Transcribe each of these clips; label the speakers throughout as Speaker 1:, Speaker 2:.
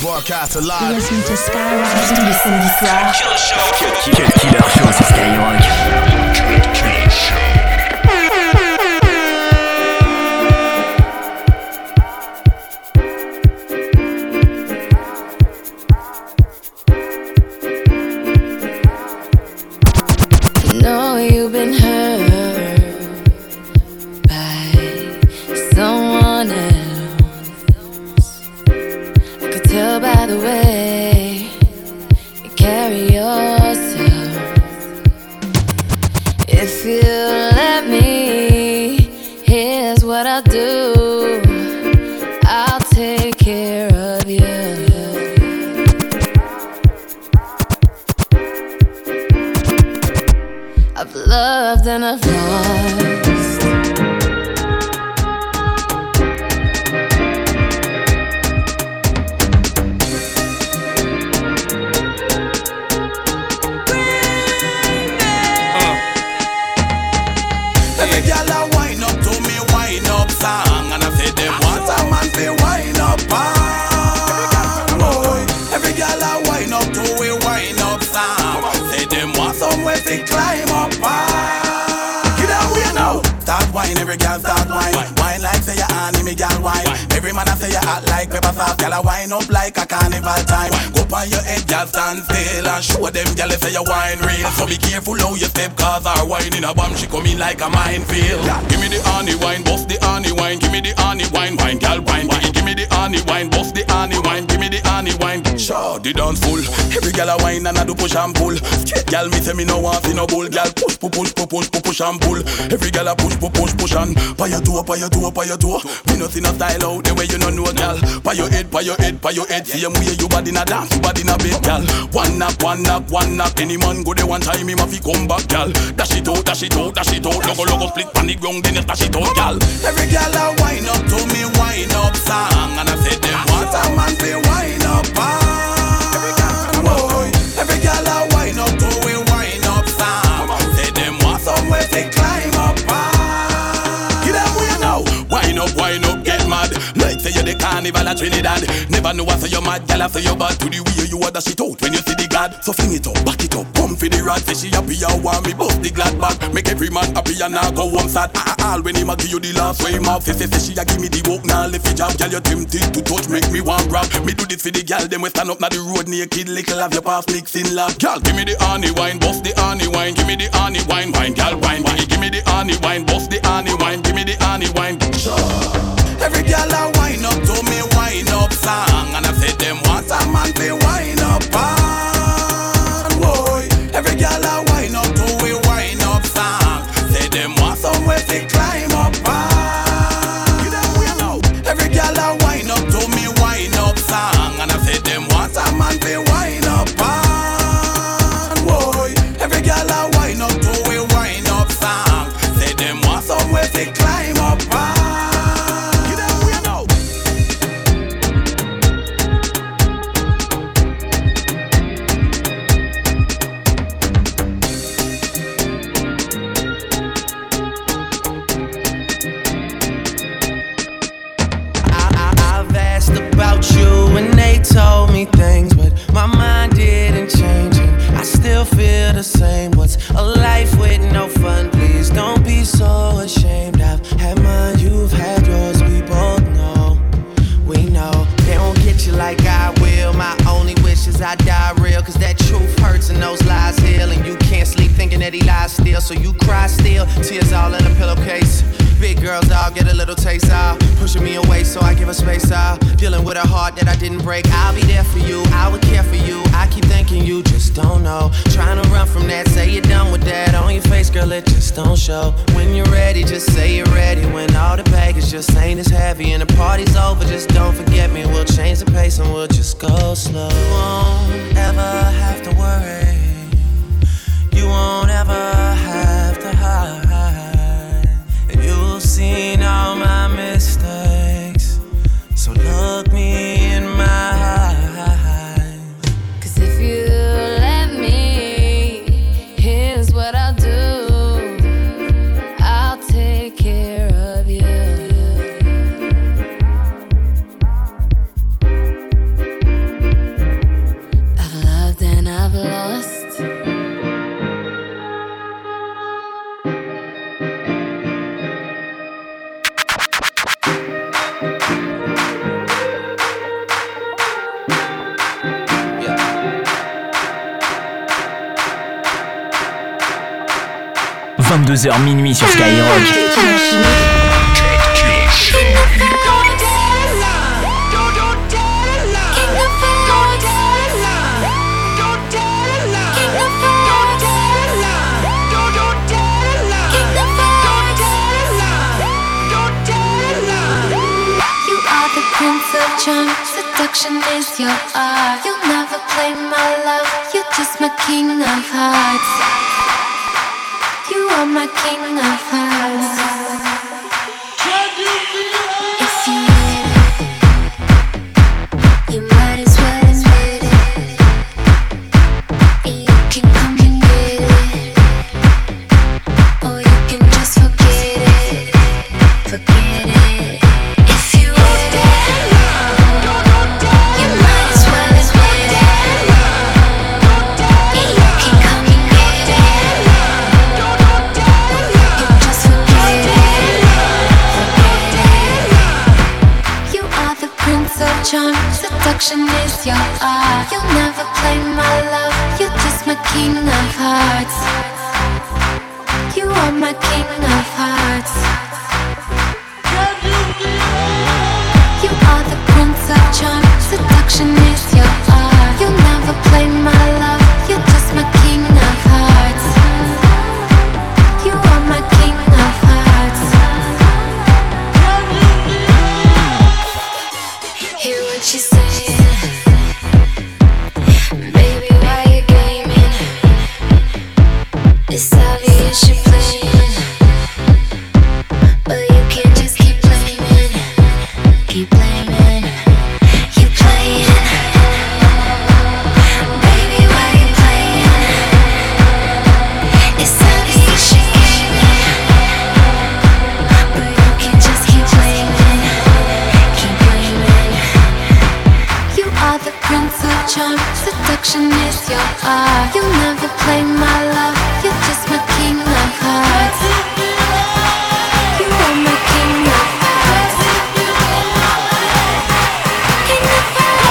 Speaker 1: Broadcast alive.
Speaker 2: You're listening to Skyrock tous les samedis soirs.
Speaker 3: Killer Show sur Skyrock.
Speaker 4: know you've been hurt by someone else. I could tell by the way you carry yourself. If you let me, here's what I'll do. I'll take care of you. I've loved and I've lost.
Speaker 1: Every girl a wind up to me, wind up song, and I say them want a man fi wind up boy. Every girl a wind up to we wind up song, say them want somewhere fi climb up. Get away now. Start wine, every girl start wine. Wine like say you anime girl wine. Every man a say you act like pepper sauce. Girl a wine up like a carnival time. Go on your head, girl stand still and show them girl say you wine real. So be careful how you step, cause our wine in a bomb she come in like a minefield. Give me the honey wine, bust the honey wine. Give me the honey wine, wine girl wine. Give me the honey wine, bust the honey wine. Give me the honey wine. Sure, the dance full. Every girl a wine and I do push and pull. Straight girl me say me no want see no bull. Girl push and pull. Every girl a push and pa your toe. Me no see no style out the way you no know, girl. Pa your head. Same way you body na dance, you body na big, girl. One knock. Any man go there one time, him a fi come back, girl. Dash it out. Logo split panic ground, then you dash it out, girl. Every girl a wind up to me, wind up song, and I say them want a man fi wind up, boy. Every girl a wind up to we wind up song, say them want somewhere fi climb up, Get them way now. Wind up, get mad. Like say you the carnival at Trinidad. Never know I say you mad, girl I say you bad. To the way you dash it out when you see the God. So fling it up, back it up, come for the rod. Say she happy, I want me bust the glad back. Make every man happy and now go home sad. All when him a give you the last way him off. Say she a give me the walk now lift it job. Girl you tempted to touch, make me want grab. Me do this for the girl, them we stand up now the road naked. Little have your past mixing love. Girl give me the honey wine, bust the honey wine. Give me the honey wine, wine girl wine. Give me the honey wine, bust the honey wine. Give me the honey wine. Every girl a wind up to me, wind up song, and I say them want a man fi wind up, boy. Every girl a wind up to we wind up song, say them want somewhere fi climb up, Get them way now. Every girl a wind up to me, wind up song, and I say them want a man fi wind up, boy. Every girl a wind up to we wind up song, say them want somewhere fi climb up,
Speaker 5: when they told me things, but my mind didn't change and I still feel the same. What's a life with no fun? Please don't be so ashamed. I've had mine, you've had yours, we both know. We know they don't get you like I will. My only wish is I die real, cause that truth hurts and those lies heal. And you can't sleep thinking that he lies still, so you cry still, tears all in a pillowcase. Big girls, I'll get a little taste out, pushing me away so I give her space out. Dealing with a heart that I didn't break. I'll be there for you, I would care for you. I keep thinking you just don't know. Trying to run from that, say you're done with that. On your face, girl, it just don't show. When you're ready, just say you're ready. When all the baggage just ain't as heavy and the party's over, just don't forget me. We'll change the pace and we'll just go slow. You won't ever have to worry. You won't ever have to hide. You've seen all my mistakes, so look me in my eyes.
Speaker 4: Cause if you let me, here's what I'll do. I'll take care of you.
Speaker 3: 22h minuit sur Skyrock.
Speaker 4: Charm, seduction is your art. You'll never play my love. You're just my king of hearts. You are my king of hearts. If you need it, you might as well admit it. You can come and get it, or you can just forget it. Forget it. If you want it. Charm, seduction is your art. You'll never play my love. You're just my king of hearts. You are my king of hearts. You are the prince of charm. Seduction is your art. You'll never play my love. You're just my king of hearts. You are my king of hearts. Hear what she's saying. Baby, why you gaming? It's obvious you're playing, but you can't just keep blaming. Keep blaming. You playing. Baby, why you playing? It's obvious you're gaming, but you can't just keep blaming. Keep blaming. You are the prince of charm. Seduction is your art. You'll never play my love. You're just my king of hearts. You are my king of hearts. King of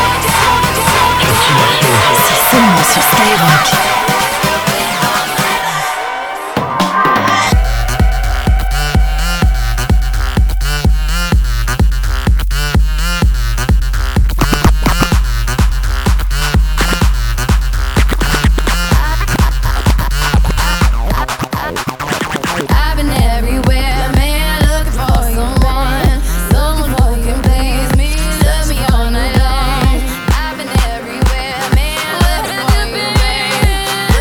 Speaker 4: hearts.
Speaker 2: C'est seulement sur Skyrock.
Speaker 4: I've been everywhere, man, looking for someone who can please me, love me all night long. I've been everywhere, man, looking for you, babe.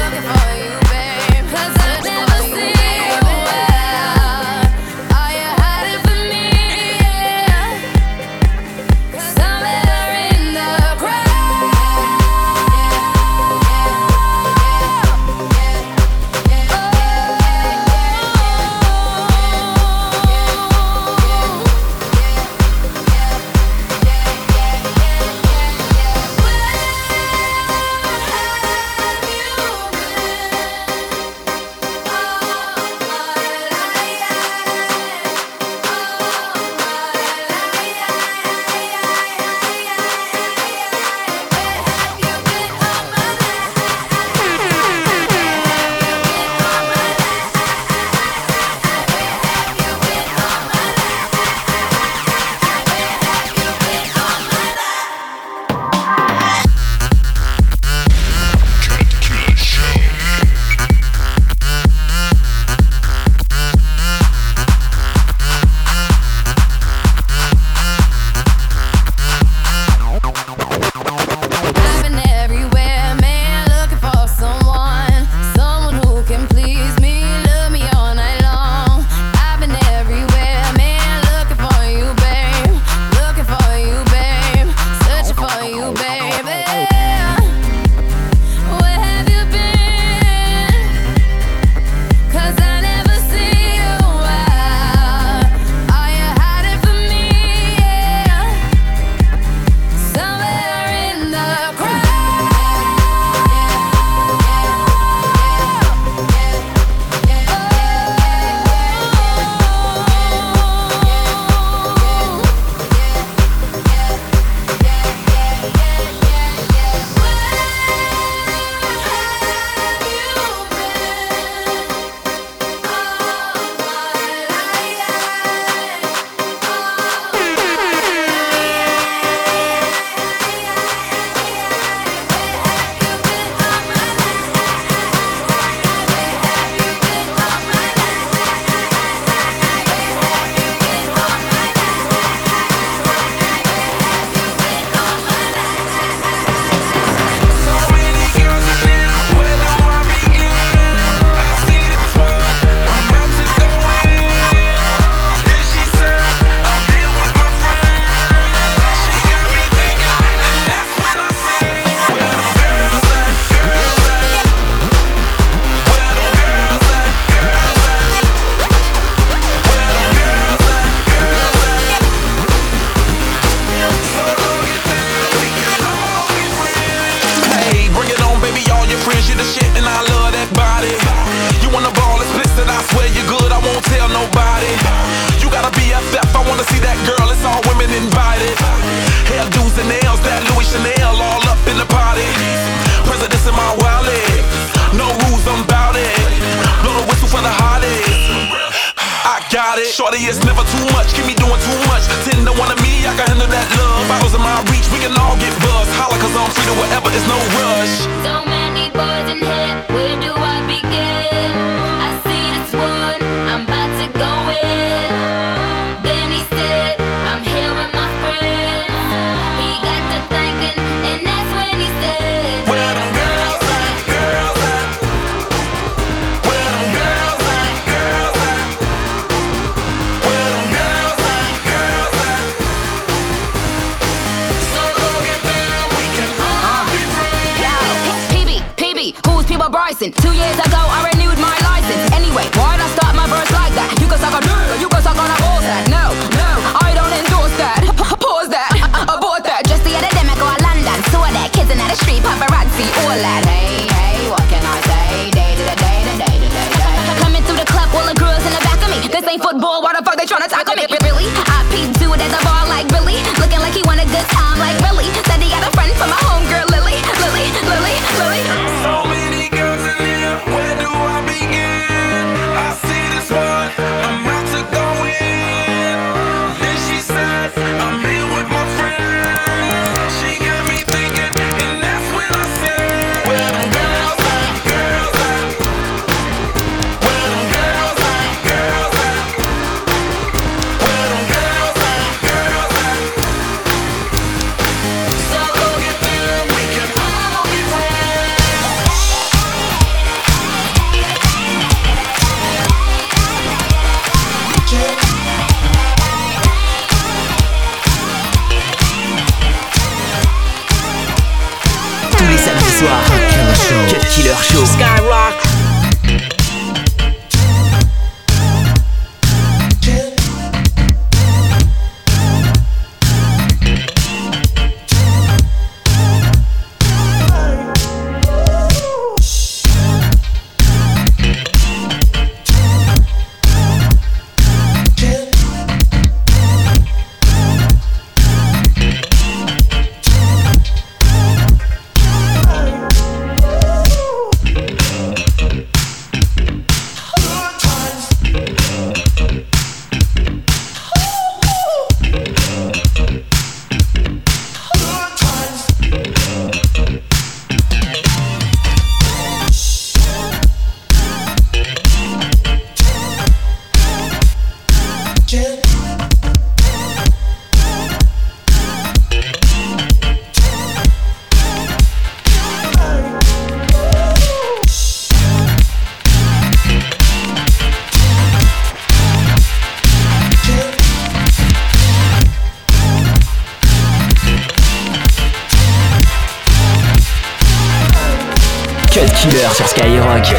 Speaker 6: friends, you the shit and I love that body. You wanna ball explicit, I swear you're good, I won't tell nobody. You gotta be BFF, I wanna see that girl, it's all women invited. Hairdos and nails, that Louis Chanel all up in the party. Presidents in my wallet, no rules, I'm bout it. Blow the whistle for the hotties. I got it. Shorty, it's never too much. Keep me doing too much. 10 to 1 of me, I can handle that love. Bottles in my reach, we can all get buzzed. Holla, cause I'm free to whatever, it's no rush.
Speaker 4: So many boys in here, where do I begin? I see this one, I'm about to go in. Then he said, I'm here with my friends. He got to thinking, and that's when he said,
Speaker 6: where them girls at, girls at? Where them girls at, girls at? Where them girls at, girls at? So go get them, we can all be friends.
Speaker 7: Yo, PB, who's People Bryson? 2 years ago I renewed my license. Anyway, why'd I start my verse like that? You can suck on you can suck on a balls that. No, I don't endorse that. Pause that, abort that. Just the other day I go to London, saw that kids in the street, paparazzi, all that. Hey, what can I say? Day to day. Coming through the club, all the girls in the back of me. This ain't football, why the fuck they tryna tackle me? Really? I peeped dude at the bar like Billy, looking like he want a good time like Billy. Said he had a friend from my homegirl Lily.
Speaker 6: So many girls in here, where do I begin? I see this one, I'm about to go in. Then she said, I'm here with my friend. She got me thinking, and that's when I said, where them girls at, girls at? Where them girls at, girls at? Where them girls at, girls at? So go get them, we can all be friends.
Speaker 3: Tous les samedis soirs, Cut Killer Show. Skyrock. Cut Killer sur Skyrock.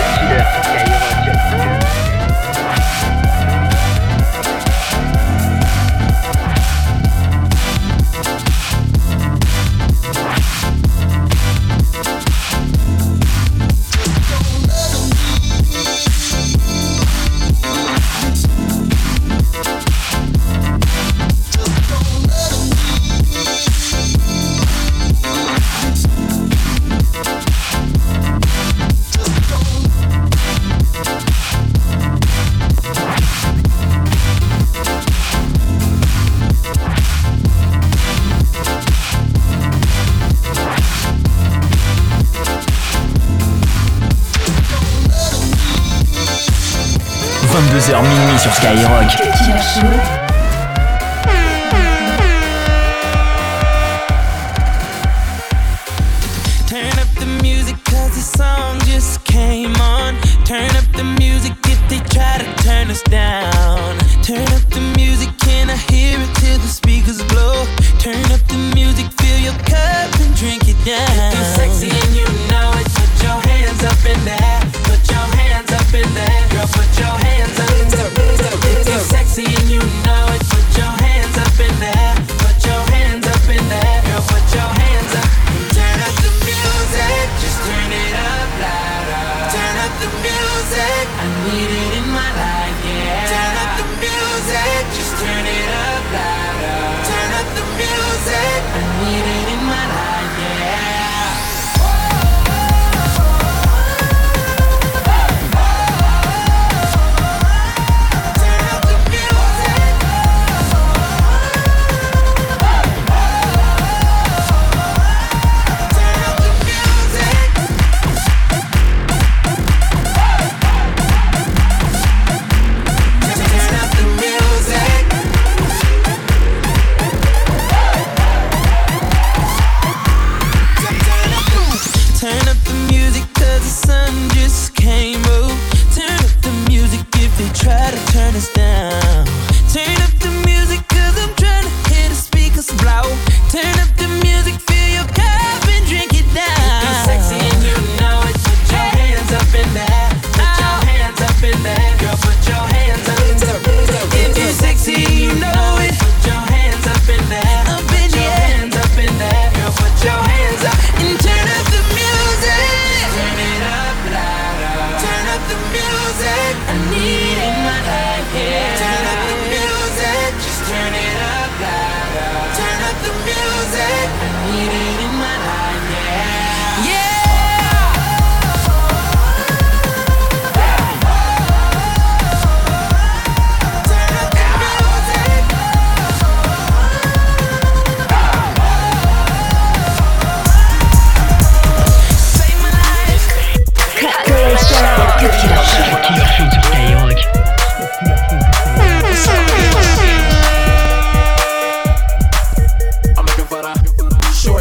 Speaker 3: Minuit sur Skyrock.
Speaker 5: Turn up the music cause the song just came on. Turn up the music if they try to turn us down. Turn up the music, can I hear it till the speakers blow? Turn up the music, fill your cup and drink it down. If you're sexy and you know it, put your hands up in there. Put your hands up in there. Girl, put your hands up in there. If you're sexy and you know it, put your hands up in there. Put your hands up in there. Girl, put your hands up. Turn up the music, just turn it up.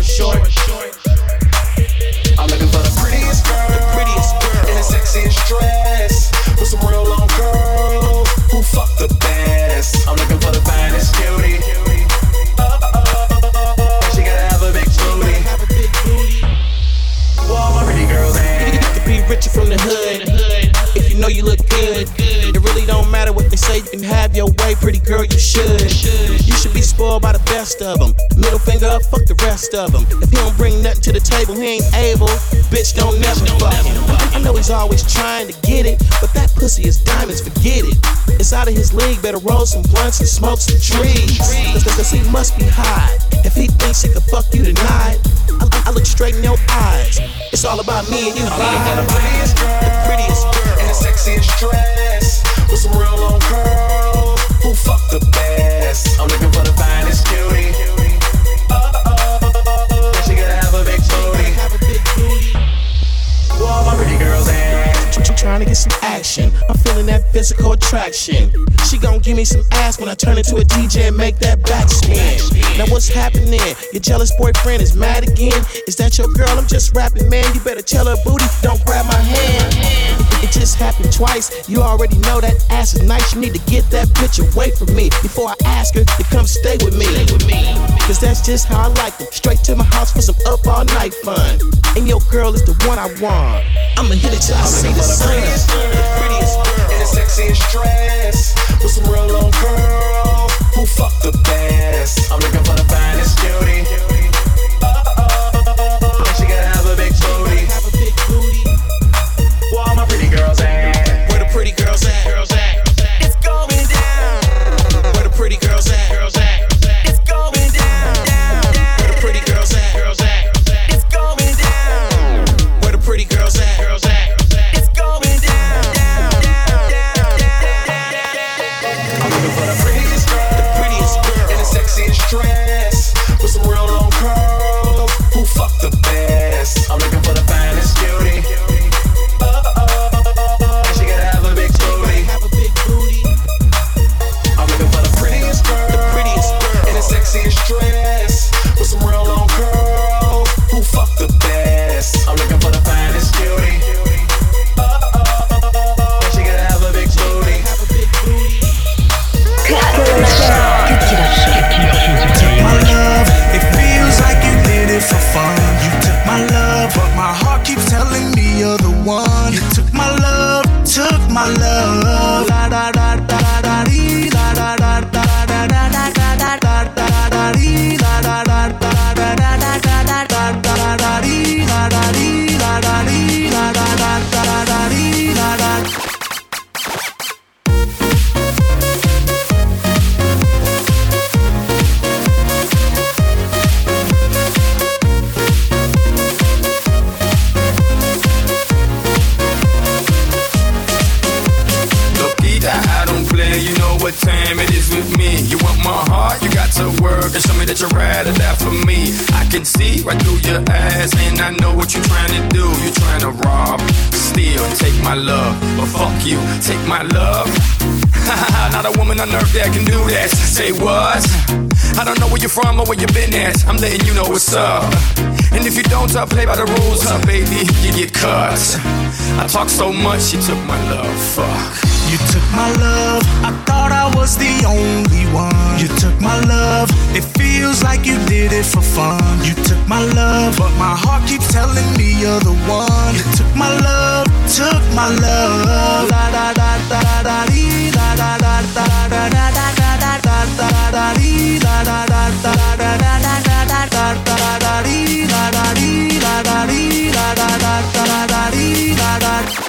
Speaker 8: short. I'm looking for the prettiest girl, in the sexiest dress, with some real long curls, who fuck the best. I'm looking for the finest cutie. And she gotta have a big booty. Well, all my pretty girls ain't. You could be richer from the hood if you know you look good. It really don't matter what they say, you can have your way, pretty girl, you should. You should be spoiled by the best of them. Middle finger up, fuck the rest of them. If he don't bring nothing to the table, he ain't able. Bitch, don't never fuck him. I know he's always trying to get it, but that pussy is diamonds, forget it. It's out of his league, better roll some blunts and smoke some trees. Cause he must be high. If he thinks he could fuck you tonight, I look straight in your eyes. It's all about me and you, the prettiest girl, in the sexiest dress, with some real long curls, who fuck the best. I'm looking for the finest cutie. And she gotta have a big booty. Well, all my pretty girls ain't. Trying to get some action, I'm feeling that physical attraction. She gon' give me some ass when I turn into a DJ and make that back spin. Now what's happening? Your jealous boyfriend is mad again? Is that your girl? I'm just rapping, man. You better tell her booty, don't grab my hand. It just happened twice. You already know that ass is nice. You need to get that bitch away from me before I ask her to come stay with me. Cause that's just how I like them. Straight to my house for some up all night fun. And your girl is the one I want. I'ma hit it till I see the sun. The prettiest girl, in the sexiest dress, with some real long curls, who fuck the best. I'm looking for the finest cutie. And she gotta have a big booty. Well, all my pretty girls at? Where the pretty girls at? It's going down. Where the pretty girls at? It's going down. Where the pretty girls at? It's going down. Where the pretty girls at? It's going down. I'm looking for the prettiest girl, in the sexiest dress, with some real long curls, who fuck the best. I'm looking for the finest cutie. And she gotta have a big booty. I'm looking for the prettiest girl, in the sexiest dress, with some real long curls, who fuck the best. I'm looking for the finest cutie. And she gotta have a big booty.
Speaker 1: My love, it feels like you did it for fun. You took my love, but my heart keeps telling me you're the one. You took my love, La da da da da dee, la da da da da da da da da da dee, la da da da da da da da da da dee, la da dee, la da dee, la da da da da dee, la da.
Speaker 6: You know what time it is with me. You want my heart, you got to work and show me that you're ride or die for me. I can see right through your eyes, and I know what you're trying to do. You're trying to rob, steal, and take my love. But fuck you, take my love. Not a woman on earth that can do that. Say what? I don't know where you're from or where you been at. I'm letting you know what's up. And if you don't play by the rules, baby, you get cut. I talk so much, you took my love. Fuck.
Speaker 1: You took my love, I thought I was the only one. You took my love, it feels like you did it for fun. You took my love, but my heart keeps telling me you're the one. You took my love, La da da da da dee, la da da da da da da da da da dee, la da da da da da da da da da dee, la da dee, la da dee, la da da da da dee, la da.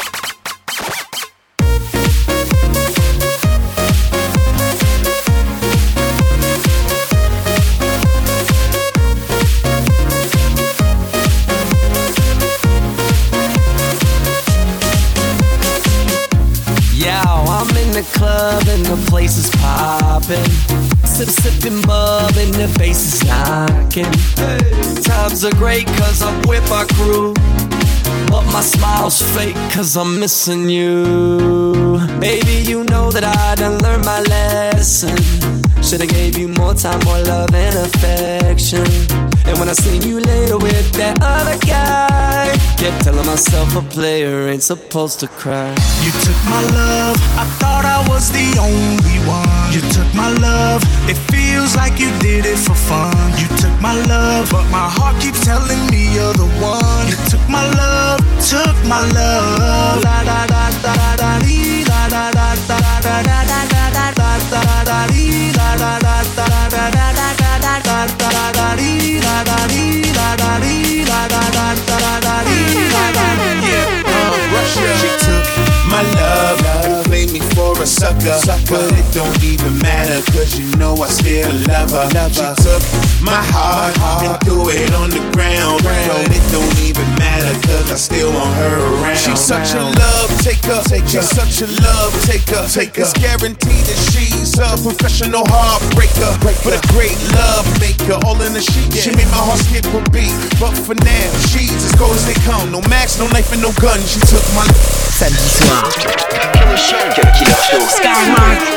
Speaker 5: The club and the place is poppin'. Sippin' bub and the bass is knockin'. Times are great cause I'm with my crew, but my smile's fake cause I'm missing you. true. Baby, you know that I done learned my lesson. Should've gave you more time, more love and affection. And when I seen you later with that other guy, kept telling myself a player ain't supposed to cry.
Speaker 1: You took my love, I thought I was the only one. You took my love, it feels like you did it for fun. You took my love, but my heart keeps telling me you're the one. You took my love, took my love. La da da da da da dee, la da da da da da da da da da da da dee, la da da da da da da da da da da da dee, la da dee, la da dee, la da da da da dee, la da. Yeah, Russia. She took my love and played me for a sucker. But it don't even matter, cause you know I still love her. She took my heart and threw it on the ground. But it don't even matter, cause I still want her around. She's such a love taker. She's such a love taker. It's guaranteed that she's a professional heartbreaker, but a great love maker. All in the sheet, she made my heart skip a beat. But for now, she's as cold as they come. No max, no knife, and no gun. She took my.
Speaker 3: Samedi soir, Killer Show, Skyrock.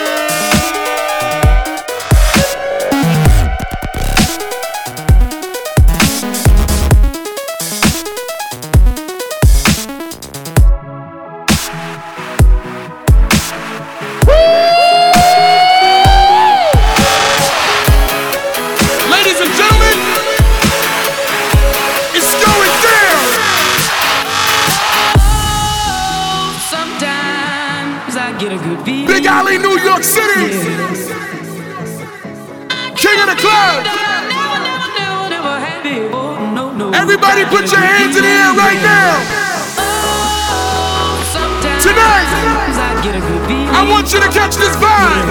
Speaker 6: Big Alley, New York City. King of the club. Everybody put your hands in the air right now. Tonight, I want you to catch this vibe.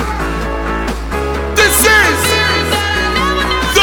Speaker 6: This is the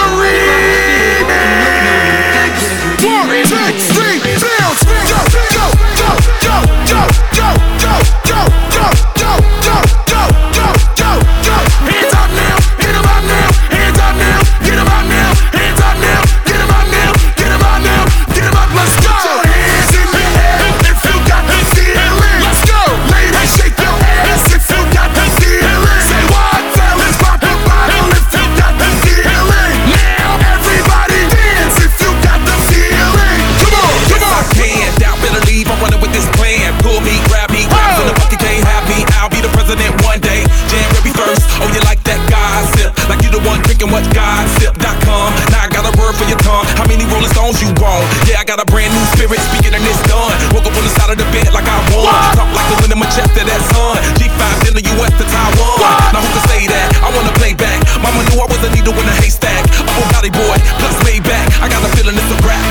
Speaker 6: remix. 1, 2, 3, bounce. Go, go, go, go, go, go, go, go, go, go, go, go, go, go, go. Hands up now, get 'em out now. Hands up now, get 'em out now. Hands up now, get 'em out now. Get 'em out now, get 'em up. Let's go. Put your hands in the air if you got the feeling. Let's go, ladies, shake your ass if you got the feeling. Say what, fellas, pop a bottle if you got the feeling. Now everybody dance if you got the feeling. Come on, come on. I can't doubt, better leave. I'm running with this plan. Pull me, grab me, grab in the bucket, can't have me. I'll be the president one day. January 1st. Oh, you like that gossip? Like you the one drinking what gossip.com. Now I got a word for your tongue. How many Rolling Stones you want? Yeah, I got a brand new spirit speaking and it's done. Woke up on the side of the bed like I won. Talk like the wind in my chest to that sun. G5 in the US to Taiwan. Now who can say that? I wanna play back. Mama knew I was a needle in a haystack. A whole body boy, plus way back. I got a feeling it's a rap.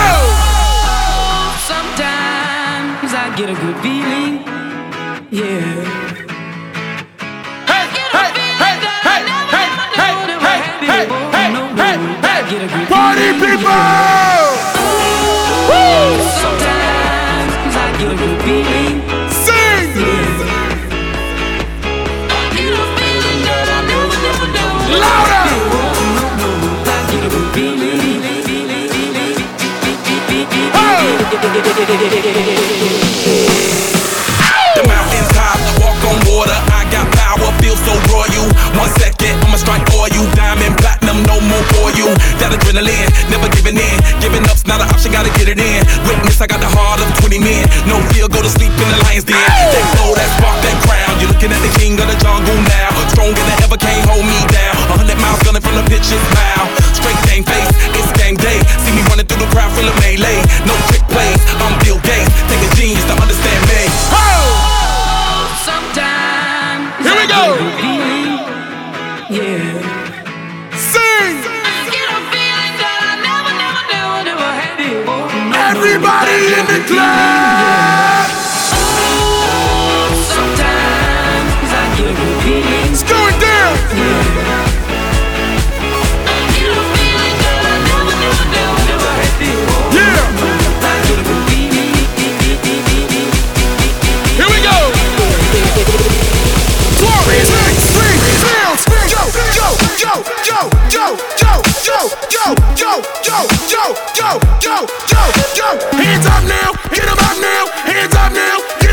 Speaker 5: Sometimes I get a good feeling, yeah.
Speaker 6: Party people! Woo!
Speaker 5: Sometimes I get a good feeling.
Speaker 6: Sing! Louder!
Speaker 5: I get a good feeling.
Speaker 6: The mountains top, walk on water. I got power, feel so royal. 1 second, I'ma strike oil. Diamond, platinum, no more for you. That adrenaline, never giving in. Giving up's not an option, gotta get it in. Witness, I got the heart of 20 men. No fear, go to sleep in the lion's den. That glow, that spark, that crown. You're looking at the king of the jungle now. Stronger than ever, can't hold me down. 100 miles gunning from the pitch's mouth. Straight game face, it's game day. See me running through the crowd, full of melee. No trick plays, I'm Bill Gates. Take a genius to understand me.
Speaker 5: Sometimes
Speaker 6: here we go.
Speaker 5: Yeah.
Speaker 6: Sing. Everybody in the club.
Speaker 5: Sometimes I get a good feeling.
Speaker 6: It's going down. Yeah. Here we go. 4, 6, 3, bounce. Go, go, go, go, go, go, go, go, go, go, go, go, go, go, go. Hands up now, get 'em out now. Hands up now, get